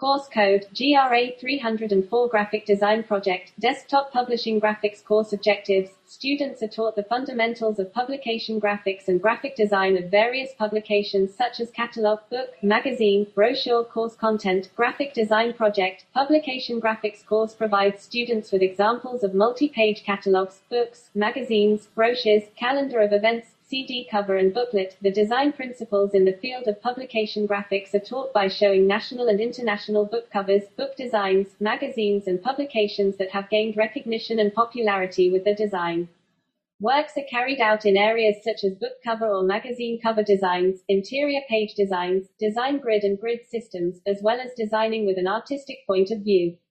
Course code, GRA 304 Graphic Design Project, Desktop Publishing Graphics Course Objectives. Students are taught the fundamentals of publication graphics and graphic design of various publications such as catalog, book, magazine, brochure. Course content, graphic design project. Publication graphics course provides students with examples of multi-page catalogs, books, magazines, brochures, calendar of events, CD cover and booklet. The design principles in the field of publication graphics are taught by showing national and international book covers, book designs, magazines and publications that have gained recognition and popularity with the design. Works are carried out in areas such as book cover or magazine cover designs, interior page designs, design grid and grid systems, as well as designing with an artistic point of view.